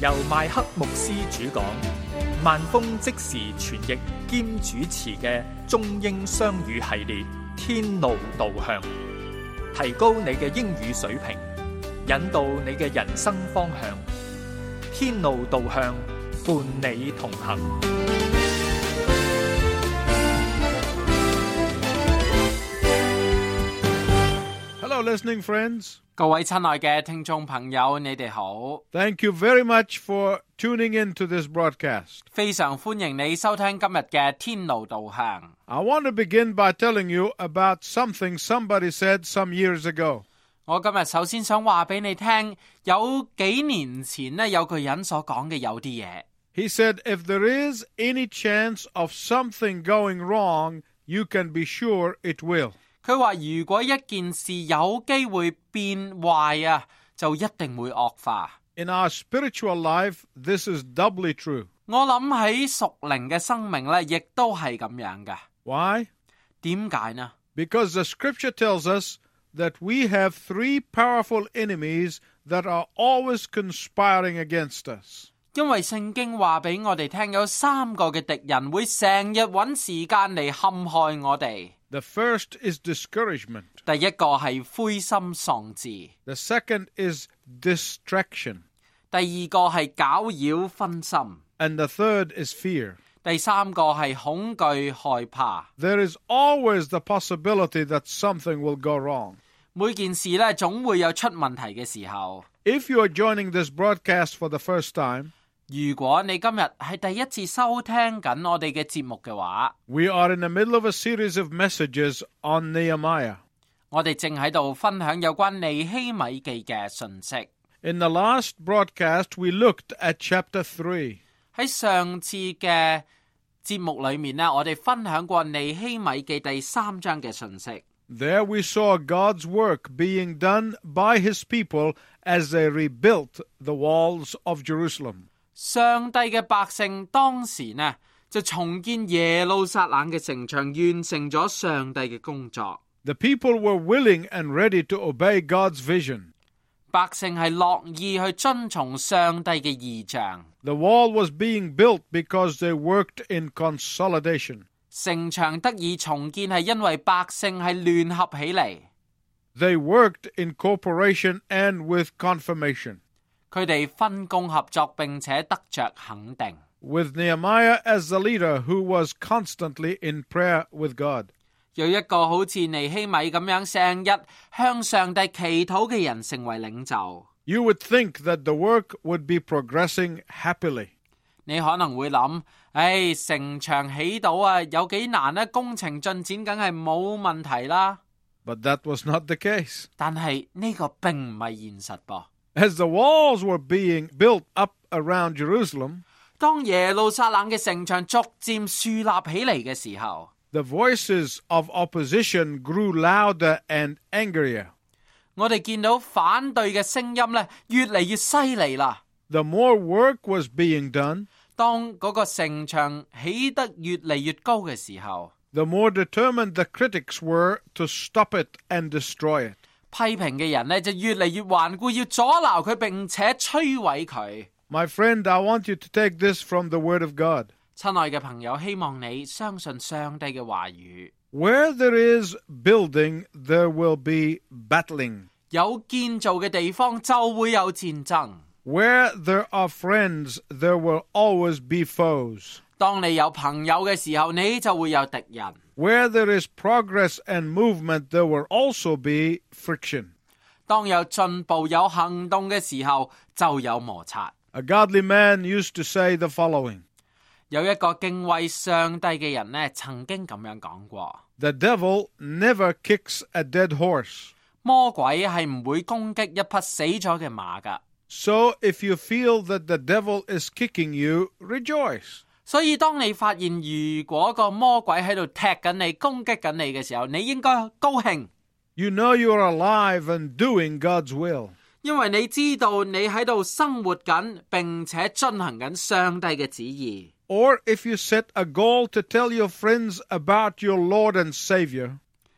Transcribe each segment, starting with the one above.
由麥克牧師主講，萬峰即時傳譯兼主持嘅中英雙語系列《天路導向》，提高你嘅英語水平，引導你嘅人生方向。天路導向，伴你同行。 Hello, listening friends. 各位親愛嘅聽眾朋友，你哋好。 Thank you very much for tuning in to this broadcast. 非常歡迎你收聽今日嘅天路導向。 I want to begin by telling you about something somebody said some years ago. 我今日首先想話俾你聽，有幾年前呢，有個人所講嘅有啲嘢。 He said, if there is any chance of something going wrong, you can be sure it will. 佢話如果一件事有機會變壞啊，就一定會惡化。 In our spiritual life, this is doubly true. 我諗喺屬靈嘅生命呢，亦都係咁樣嘅。 Why? 點解呢？ Because the scripture tells us that we have three powerful enemies that are always conspiring against us. 因為聖經話俾我哋聽，有三個嘅敵人會成日揾時間嚟陷害我哋。 The first is discouragement. 第一個係灰心喪志。 The second is distraction. 第二個係攪擾分心。 And the third is fear. 第三個係恐懼害怕。 There is always the possibility that something will go wrong. 每件事呢，總會有出問題嘅時候。 If you are joining this broadcast for the first time, 如果你今日係第一次收聽緊我哋嘅節目嘅話， we are in the middle of a series of messages on Nehemiah. 我哋正喺度分享有關尼希米記嘅信息。 In the last broadcast, we looked at chapter 3. 喺上次嘅節目裏面呢，我哋分享過尼希米記第3章嘅信息。 There we saw God's work being done by his people as they rebuilt the walls of Jerusalem. 上帝嘅百姓當時呢，就重建耶路撒冷嘅城牆，完成咗上帝嘅工作。 The people were willing and ready to obey God's vision. 百姓係樂意去遵從上帝嘅異象。 The wall was being built because they worked in consolidation. 城牆得以重建係因為百姓係聯合起嚟。 They worked in cooperation and with confirmation. 佢哋分工合作，並且得着肯定。 With Nehemiah as the leader who was constantly in prayer with God. 有一個好似尼希米咁樣成日向上帝祈禱嘅人成為領袖。 You would think that the work would be progressing happily. 你可能會諗，城牆起到啊，有幾難呢？工程進展梗係冇問題啦。 But that was not the case. 但係呢個並唔係現實噃。 As the walls were being built up around Jerusalem, 當耶路撒冷嘅城牆逐漸樹立起嚟嘅時候， the voices of opposition grew louder and angrier. 我哋見到反對嘅聲音呢，越嚟越犀利啦。 The more work was being done, 當嗰個城牆起得越嚟越高嘅時候， the more determined the critics were to stop it and destroy it. 批評嘅人呢，就越嚟越頑固，要阻撓佢並且摧毀佢。 My friend, I want you to take this from the Word of God. 親愛嘅朋友，希望你相信上帝嘅話語。 Where there is building, there will be battling. 有建造嘅地方就會有戰爭。 Where there are friends, there will always be foes. 當你有朋友嘅時候，你就會有敵人。 Where there is progress and movement, there will also be friction. 當有進步有行動嘅時候，就有摩擦。 A godly man used to say the following. 有一個敬畏上帝嘅人呢，曾經咁樣講過。 The devil never kicks a dead horse. 魔鬼係唔會攻擊一匹死咗嘅馬㗎。 So if you feel that the devil is kicking you, rejoice. 所以當你發現如果個魔鬼喺度踢緊你、攻擊緊你嘅時候，你應該高興。 You know you are alive and doing God's will. 因為你知道你喺度生活緊，並且進行緊上帝嘅旨意。 Or if you set a goal to tell your friends about your Lord and Savior.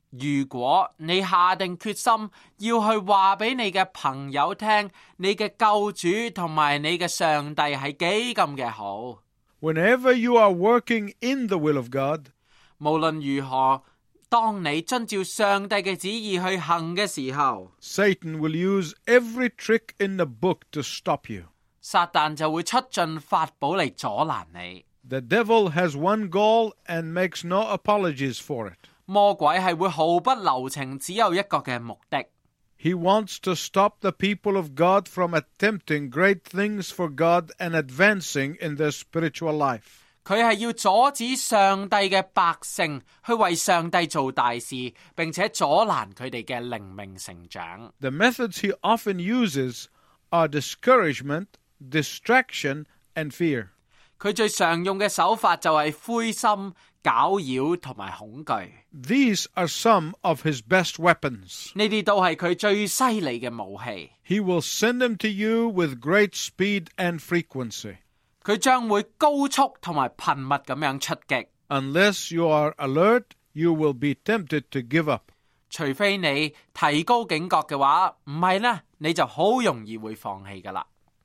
如果你下定決心要去話俾你嘅朋友聽，你嘅救主同埋你嘅上帝係幾咁嘅好。 Whenever you are working in the will of God, 無論如何，當你遵照上帝嘅旨意去行嘅時候， Satan will use every trick in the book to stop you. 撒旦就會出盡法寶嚟阻攔你。 The devil has one goal and makes no apologies for it. 魔鬼係會毫不留情，只有一個嘅目的。 He wants to stop the people of God from attempting great things for God and advancing in their spiritual life. 佢係要阻止上帝嘅百姓去為上帝做大事，並且阻攔佢哋嘅靈命成長。 The methods he often uses are discouragement, distraction, and fear. 佢最常用嘅手法就係灰心、攪擾同埋恐懼。 These are some of his best weapons. 呢啲都係佢最犀利嘅武器。 He will send them to you with great speed and frequency. 佢將會高速同埋頻密咁樣出擊。 Unless you are alert, you will be tempted to give up. 除非你提高警覺嘅話，唔係呢，你就好容易會放棄噶啦。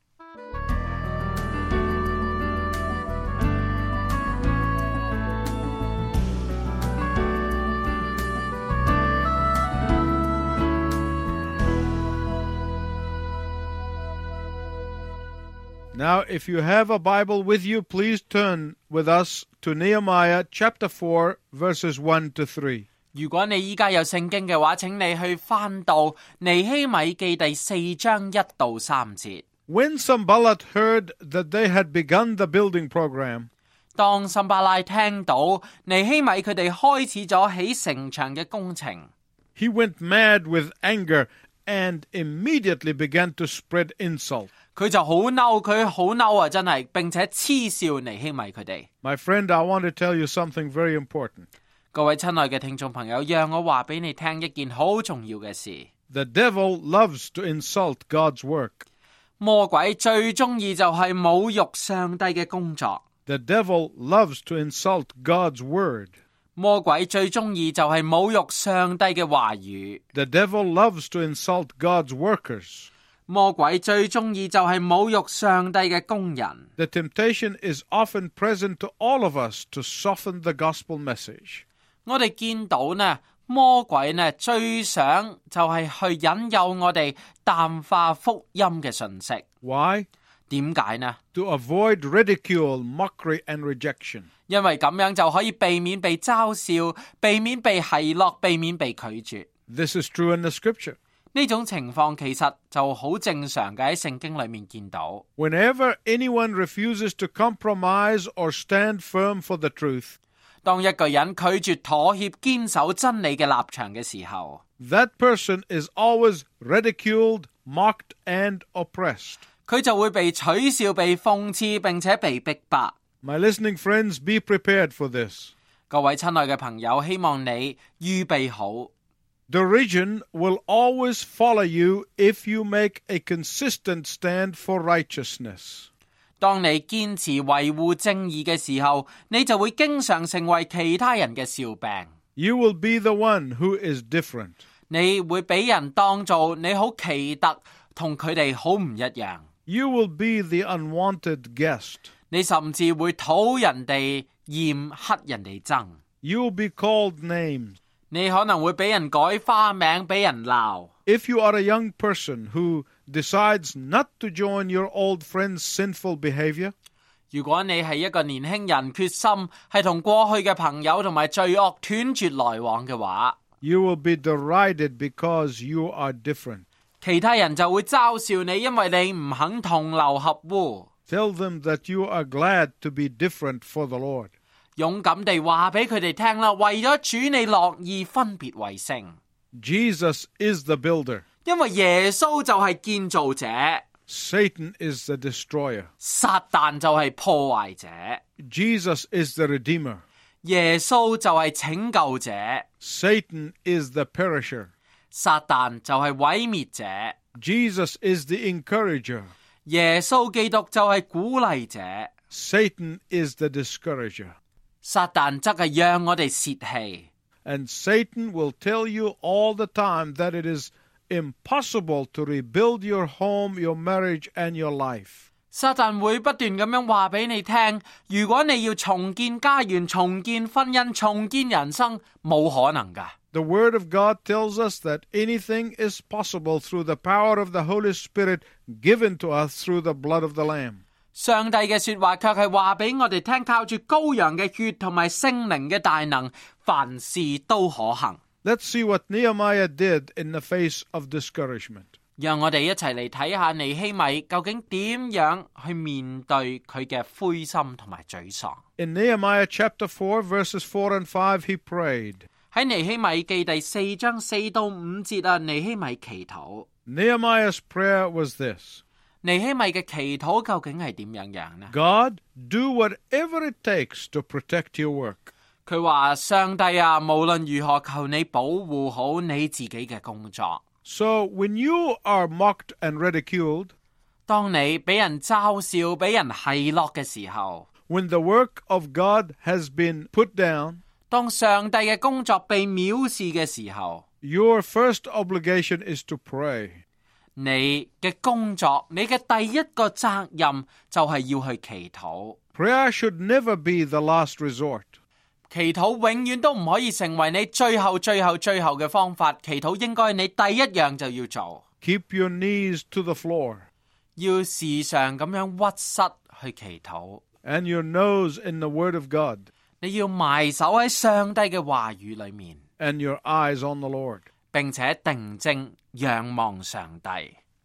Now, if you have a Bible with you, please turn with us to Nehemiah chapter 4, verses 1 to 3. 如果你依家有聖經嘅話，請你去翻到尼希米記第4章1到3節。 When Sanballat heard that they had begun the building program, 當參巴拉聽到尼希米佢哋開始咗起城牆嘅工程， he went mad with anger and immediately began to spread insult. 佢就好嬲，佢好嬲啊！真係，並且嗤笑尼希米佢哋。 My friend, I want to tell you something very important. 各位親愛嘅聽眾朋友，讓我話俾你聽一件好重要嘅事。 The devil loves to insult God's work. 魔鬼最中意就係侮辱上帝嘅工作。 The devil loves to insult God's word. 魔鬼最中意就係侮辱上帝嘅話語。 The devil loves to insult God's workers. 魔鬼最中意就係侮辱上帝嘅工人。 The temptation is often present to all of us to soften the gospel message. 我哋見到呢，魔鬼呢最想就係去引誘我哋淡化福音嘅信息。 Why? 點解呢？ To avoid ridicule, mockery, and rejection. 因為咁樣就可以避免被嘲笑，避免被奚落，避免被拒絕。 This is true in the scripture. 呢種情況其實就好正常嘅，喺聖經裏面見到。 Whenever anyone refuses to compromise or stand firm for the truth, 當一個人拒絕妥協、堅守真理嘅立場嘅時候， that person is always ridiculed, mocked, and oppressed. 佢就會被取笑、被諷刺，並且被逼迫。 My listening friends, be prepared for this. 各位親愛嘅朋友，希望你預備好。 Derision will always follow you if you make a consistent stand for righteousness. 當你堅持維護正義嘅時候，你就會經常成為其他人嘅笑柄。 You will be the one who is different. 你會俾人當做你好奇特，同佢哋好唔一樣。 You will be the unwanted guest. 你甚至會討人哋厭、乞人哋憎。 You will be called names. 你可能會俾人改花名，俾人鬧。 If you are a young person who decides not to join your old friend's sinful behavior, 如果你係一個年輕人，決心係同過去嘅朋友同埋罪惡斷絕來往嘅話， you will be derided because you are different. 其他人就會嘲笑你，因為你唔肯同流合污。 Tell them that you are glad to be different for the Lord. 勇敢地話俾佢哋聽啦，為咗主你樂意分別為聖。 Jesus is the builder. 因為耶穌就係建造者， Satan is the destroyer. 撒旦就係破壞者， Jesus is the redeemer. 耶穌就係拯救者， Satan is the perisher. 撒旦就係毀滅者， Jesus is the encourager. 耶穌基督就係鼓勵者， Satan is the discourager. 撒旦則係讓我哋泄氣。 And Satan will tell you all the time that it is impossible to rebuild your home, your marriage, and your life. 撒旦會不斷咁樣話俾你聽，如果你要重建家園、重建婚姻、重建人生，冇可能㗎。 The Word of God tells us that anything is possible through the power of the Holy Spirit given to us through the blood of the Lamb. 上帝嘅說話卻係話俾我哋聽，靠住羔羊嘅血同埋聖靈嘅大能，凡事都可行。 Let's see what Nehemiah did in the face of discouragement. 讓我哋一齊嚟睇下尼希米究竟點樣去面對佢嘅灰心同埋沮喪。 In Nehemiah chapter 4, verses 4 and 5, he prayed. 喺尼希米記第4章4到5節啊，尼希米祈禱。 Nehemiah's prayer was this. 尼希米嘅祈禱究竟係點樣呢？ God, do whatever it takes to protect your work. 佢話上帝啊，無論如何，求你保護好你自己嘅工作。 So when you are mocked and ridiculed, 當你俾人嘲笑、俾人奚落嘅時候， when the work of God has been put down, 當上帝嘅工作被藐視嘅時候， your first obligation is to pray. 你嘅工作，你嘅第一個責任就係要去祈禱。 Prayer should never be the last resort. 祈禱永遠都唔可以成為你最後嘅方法。祈禱應該你第一樣就要做。 Keep your knees to the floor. 要時常咁樣屈膝去祈禱。 And your nose in the Word of God. 你要埋首喺上帝嘅話語裏面。 And your eyes on the Lord. 並且定睛仰望上帝。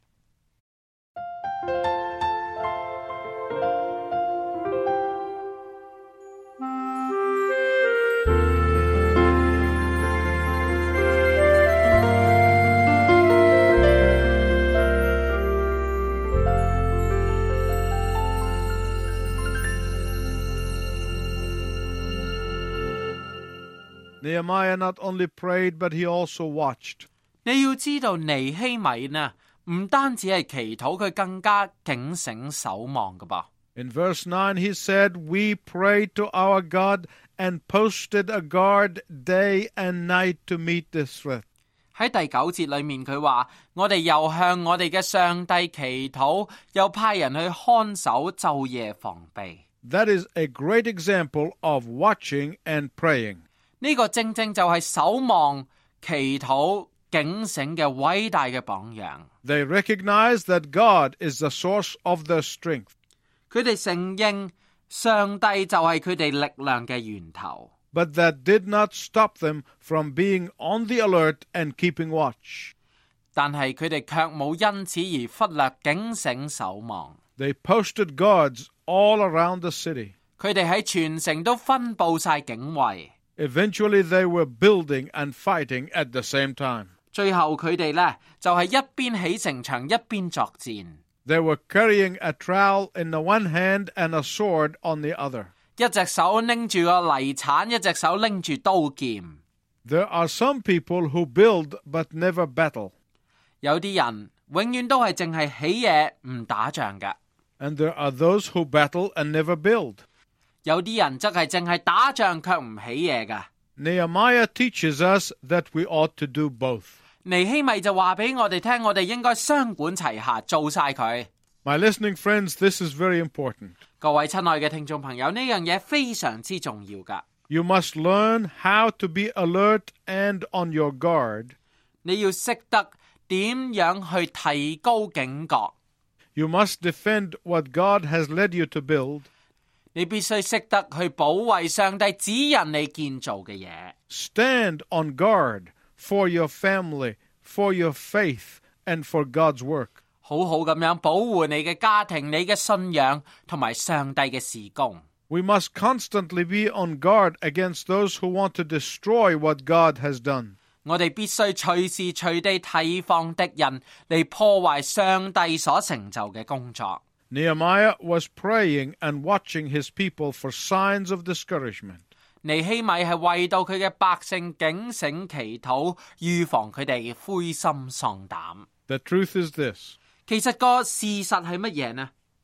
Nehemiah not only prayed, but he also watched. 你要知道尼希米呢，唔單止係祈禱，佢更加警醒守望㗎噃。 In verse 9 he said, We prayed to our God and posted a guard day and night to meet this threat. 喺第9節裏面佢話，我哋又向我哋嘅上帝祈禱，又派人去看守，晝夜防備。 That is a great example of watching and praying. 呢個正正就係守望、祈禱、警醒嘅偉大嘅榜樣。 They recognized that God is the source of their strength. 佢哋承認上帝就係佢哋力量嘅源頭。 But that did not stop them from being on the alert and keeping watch. 但係佢哋卻冇因此而忽略警醒守望。 They posted guards all around the city. 佢哋喺全城都分佈晒警衛。 Eventually they were building and fighting at the same time. 最後佢哋呢，就係一邊起城牆一邊作戰。 They were carrying a trowel in the one hand and a sword on the other. 一隻手拎住個泥鏟，一隻手拎住刀劍。 There are some people who build but never battle. 有啲人永遠都係淨係起嘢唔打仗㗎。 And there are those who battle and never build. 有啲人則係淨係打仗卻唔起嘢㗎。 Nehemiah teaches us that we ought to do both. 尼希米就話俾我哋聽，我哋應該雙管齊下，做晒佢。 My listening friends, this is very important. 各位親愛嘅聽眾朋友，呢樣嘢非常之重要㗎。 You must learn how to be alert and on your guard. 你要識得點樣去提高警覺。 You must defend what God has led you to build. 你必須識得去保衛上帝指引你建造嘅嘢。 Stand on guard for your family, for your faith, and for God's work. 好好咁樣保護你嘅家庭、你嘅信仰同埋上帝嘅事工。 We must constantly be on guard against those who want to destroy what God has done. 我哋必須隨時隨地提防敵人嚟破壞上帝所成就嘅工作。 Nehemiah was praying and watching his people for signs of discouragement. 尼希米係為到佢嘅百姓警醒祈禱，預防佢哋灰心喪膽。 The truth is this. 其實個事實係乜嘢呢？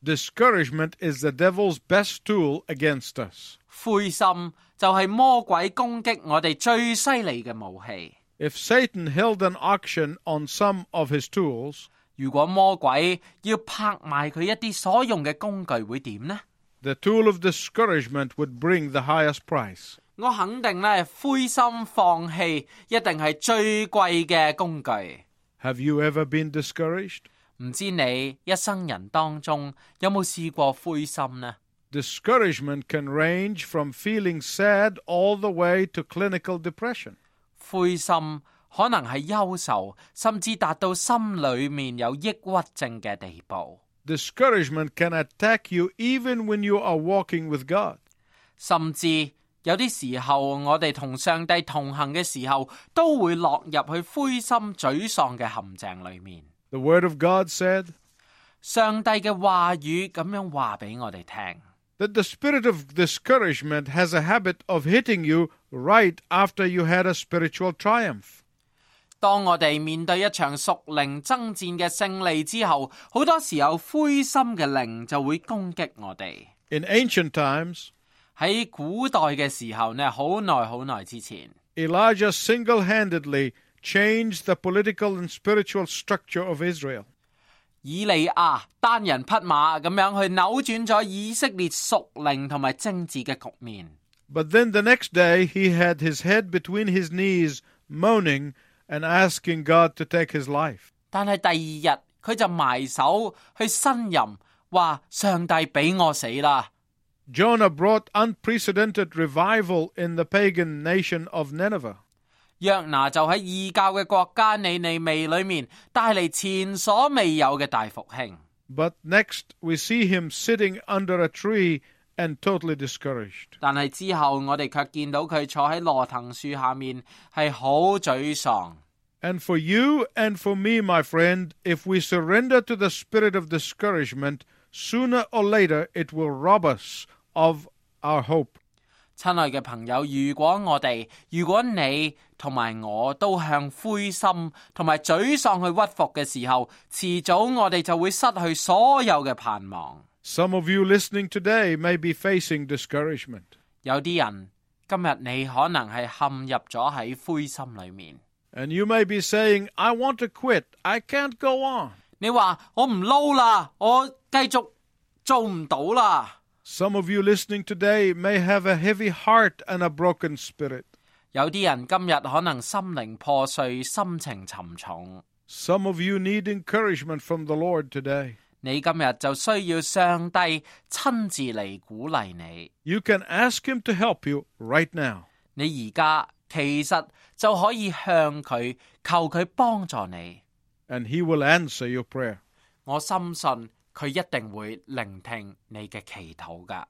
Discouragement is the devil's best tool against us. 灰心就係魔鬼攻擊我哋最犀利嘅武器。 If Satan held an auction on some of his tools, 如果魔鬼要拍賣佢一啲所用嘅工具，會點呢？ the tool of discouragement would bring the highest price. 我肯定咧，灰心放棄一定係最貴嘅工具。 Have you ever been discouraged? 唔知你一生人當中有冇試過灰心呢？ Discouragement can range from feeling sad all the way to clinical depression. 灰心可能係憂愁，甚至達到心裏面有抑鬱症嘅地步。 Discouragement can attack you even when you are walking with God. 甚至有啲時候，我哋同上帝同行嘅時候，都會落入去灰心沮喪嘅陷阱裏面。 The Word of God said 上帝嘅話語咁樣話俾我哋聽。 that the spirit of discouragement has a habit of hitting you right after you had a spiritual triumph. 當我哋面對一場屬靈爭戰嘅勝利之後，好多時候灰心嘅靈就會攻擊我哋。 In ancient times, 喺古代嘅時候呢，好耐之前， Elijah single-handedly changed the political and spiritual structure of Israel. 以利亞單人匹馬咁樣去扭轉咗以色列屬靈同埋政治嘅局面。 But then the next day, he had his head between his knees, moaning and asking God to take his life. 但係第二日佢就埋手去呻吟，話上帝俾我死啦。 Jonah brought unprecedented revival in the pagan nation of Nineveh. 約拿就喺異教嘅國家尼尼微裏面帶嚟前所未有嘅大復興。 But next, we see him sitting under a tree and totally discouraged. 但係之後我哋卻見到佢坐喺羅藤樹下面，係好沮喪。 And for you and for me, my friend, if we surrender to the spirit of discouragement, sooner or later it will rob us of our hope. 親愛嘅朋友，如果你同埋我都向灰心同埋沮喪去屈服嘅時候，遲早我哋就會失去所有嘅盼望。 Some of you listening today may be facing discouragement. 有啲人今日你可能係陷入咗喺灰心裏面。 And you may be saying, I want to quit. I can't go on. 你話我唔撈啦，我繼續做唔到啦。 Some of you listening today may have a heavy heart and a broken spirit. 有啲人今日可能心靈破碎，心情沉重。 Some of you need encouragement from the Lord today. 你今日就需要上帝親自嚟鼓勵你。 You can ask him to help you right now. 你而家其實就可以向佢求佢幫助你。 And he will answer your prayer. 我深信佢一定會聆聽你嘅祈禱㗎。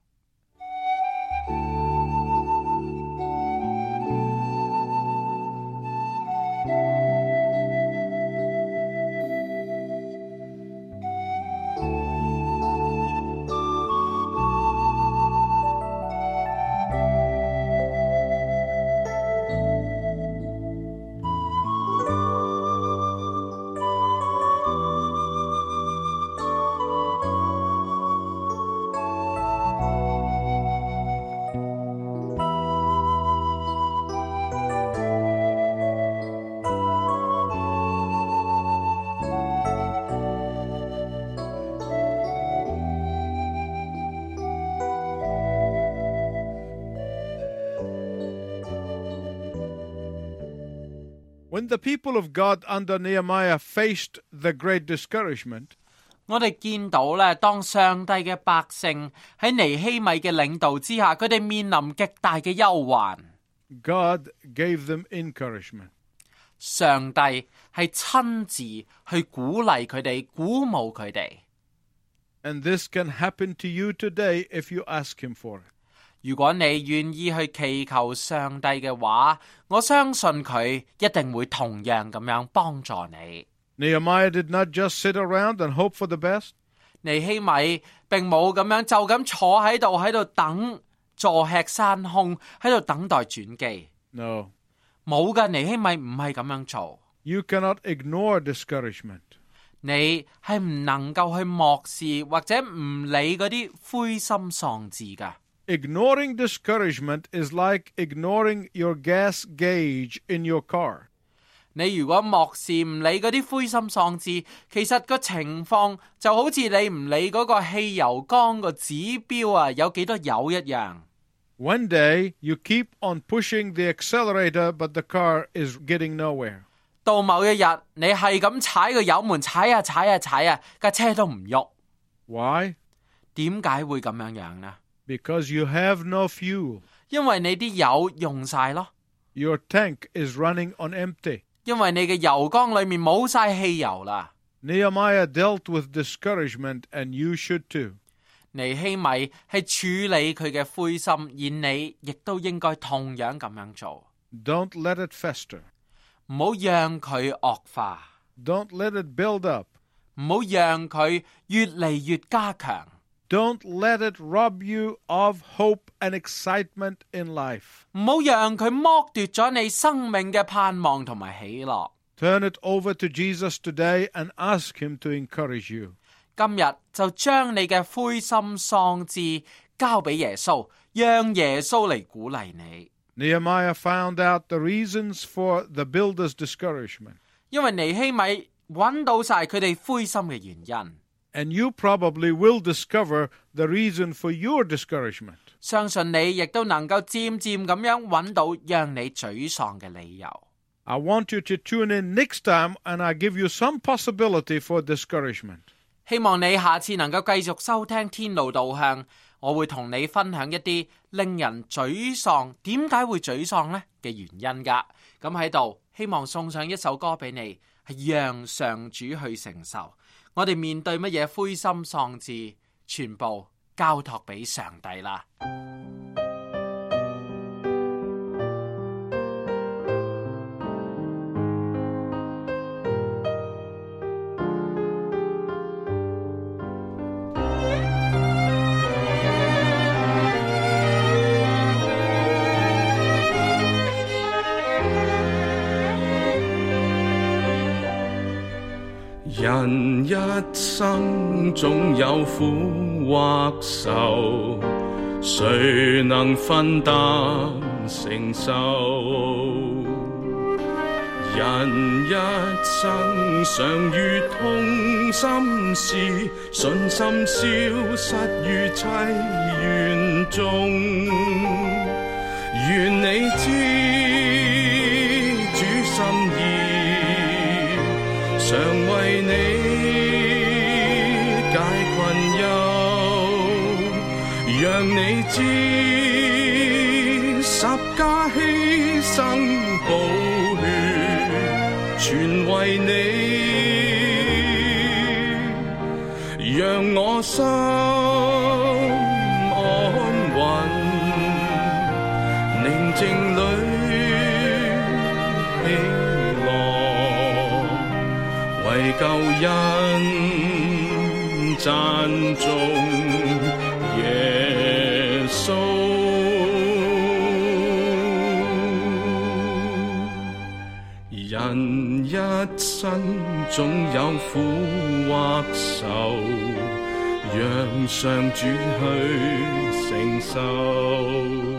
When the people of God under Nehemiah faced the great discouragement, 我哋見到咧，當上帝嘅百姓喺尼希米嘅領導之下，佢哋面臨極大嘅憂患。 God gave them encouragement. 上帝係親自去鼓勵佢哋，鼓舞佢哋。 And this can happen to you today if you ask him for it. 如果你願意去祈求上帝嘅話，我相信佢一定會同樣咁樣幫助你。 Nehemiah did not just sit around and hope for the best. 尼希米並冇咁樣就咁坐喺度等，坐吃山空，喺度等待轉機。 No. 冇㗎，尼希米唔係咁樣做。 You cannot ignore discouragement. 你係唔能夠去漠視或者唔理嗰啲灰心喪志㗎。 Ignoring discouragement is like ignoring your gas gauge in your car. 你如果漠視唔理嗰啲灰心喪志，其實個情況就好似你唔理嗰個汽油缸個指標啊有幾多油一樣。 One day, you keep on pushing the accelerator, but the car is getting nowhere. 到某一日，你係咁踩個油門，踩啊踩啊踩啊，架車都唔喐。 Why? 點解會咁樣呢？ Because you have no fuel. 因為你啲油用晒咯。 Your tank is running on empty. 因為你嘅油缸裏面冇晒汽油啦。 Nehemiah dealt with discouragement, and you should too. 尼希米係處理佢嘅灰心，而你亦都應該同樣咁樣做。 Don't let it fester. 唔好讓佢惡化， Don't let it build up. 唔好讓佢越嚟越加強。 Don't let it rob you of hope and excitement in life. 唔好讓佢剝奪咗你生命嘅盼望同埋喜樂。 Turn it over to Jesus today and ask him to encourage you. 今日就將你嘅灰心喪志交俾耶穌，讓耶穌嚟鼓勵你。 Nehemiah found out the reasons for the builders' discouragement. 因為尼希米揾到晒佢哋灰心嘅原因。 And you probably will discover the reason for your discouragement. 相信你亦都能夠漸漸咁樣揾到讓你沮喪嘅理由。 I want you to tune in next time and I give you some possibility for discouragement. 希望你下次能夠繼續收聽天路導向，我會同你分享一啲令人沮喪，點解會沮喪呢嘅原因㗎。咁喺度希望送上一首歌俾你，係讓上主去承受。我哋面對乜嘢灰心喪志，全部交託俾上帝啦。 人一生總有苦或愁，誰能分擔承受？人一生常遇痛心事，信心消失於淒怨中。願你知主心意，常為你解困憂，讓你知十架犧牲寶血，全為你，讓我心安穩，寧靜裏為救恩讚頌耶穌。人一生總有苦或愁，讓上主去承受。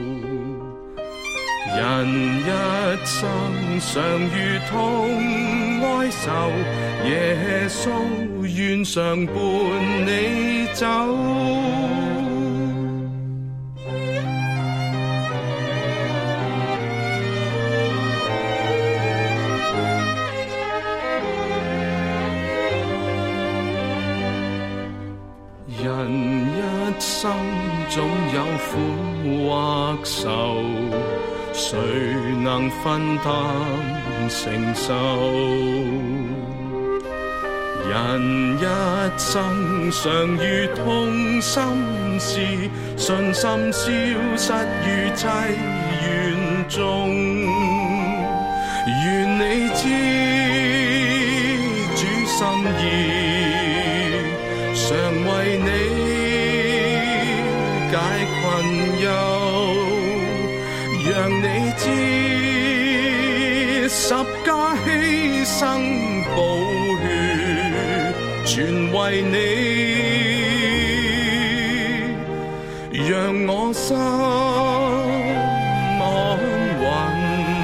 人一生常遇痛哀愁，耶穌願常伴你走。人一生總有苦或愁，誰能分擔承受？人一生常遇痛心事，信心消失於淒怨中。願你知主心意，常為你解困憂，讓你知十架犧牲寶血， 全為你，讓我心安穩，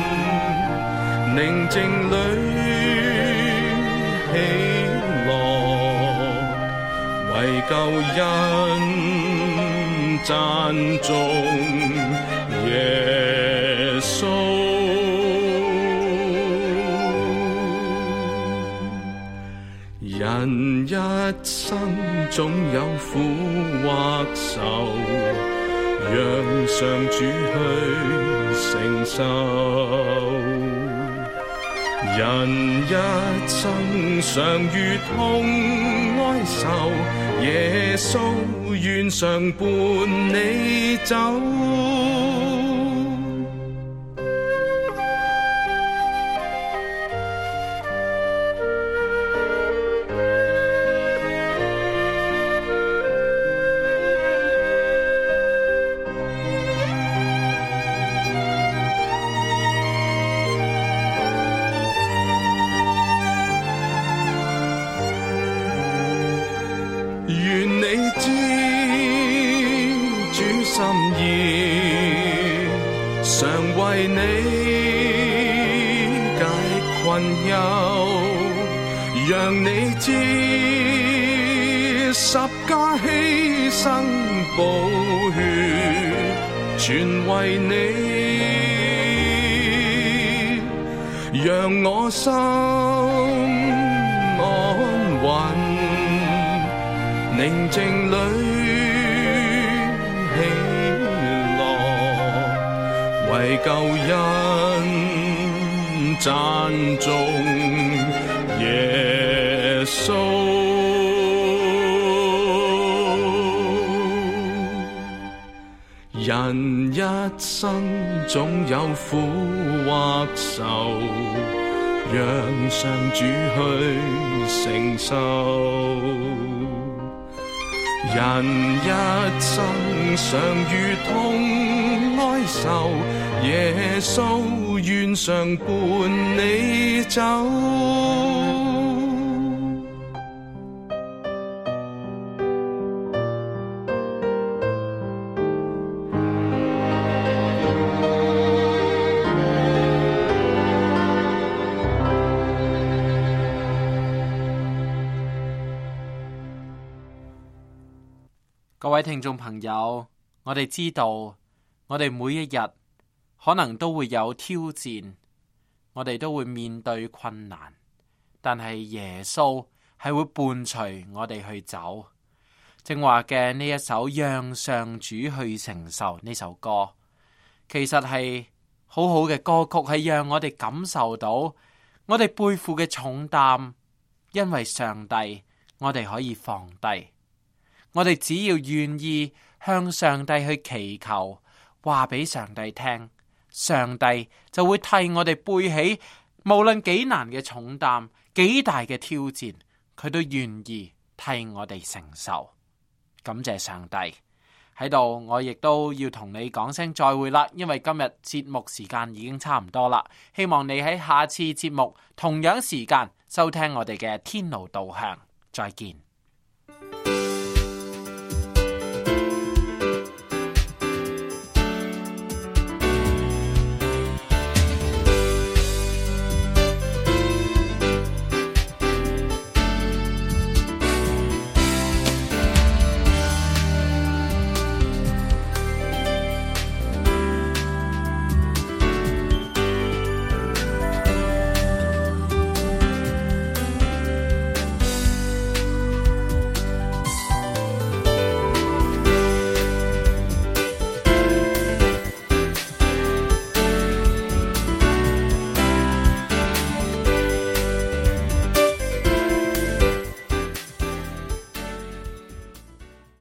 寧靜裏喜樂，為救恩讚頌耶穌。人一生總有苦或愁，讓上主去承受。人一生常遇痛哀愁，耶穌願常伴你走。常為你解困憂，讓你知十架犧牲寶血，全為你，讓我心安穩，寧靜裏為救恩讚頌耶穌。人一生總有苦或愁，讓上主去承受。人一生常遇痛哀愁，耶穌願常伴你走。 各位聽眾朋友，我哋知道，我哋每一日可能都會有挑戰，我哋都會面對困難，但係耶穌係會伴隨我哋去走。正話嘅呢一首讓上主去承受呢首歌，其實係好好嘅歌曲，係讓我哋感受到我哋背負嘅重擔，因為上帝，我哋可以放低。我哋只要願意向上帝去祈求，話俾上帝聽，上帝就會替我哋背起無論幾難嘅重擔，幾大嘅挑戰，佢都願意替我哋承受。感謝上帝。喺度，我亦都要同你講聲再會啦，因為今日節目時間已經差唔多啦。希望你喺下次節目同樣時間收聽我哋嘅天路導向。再見。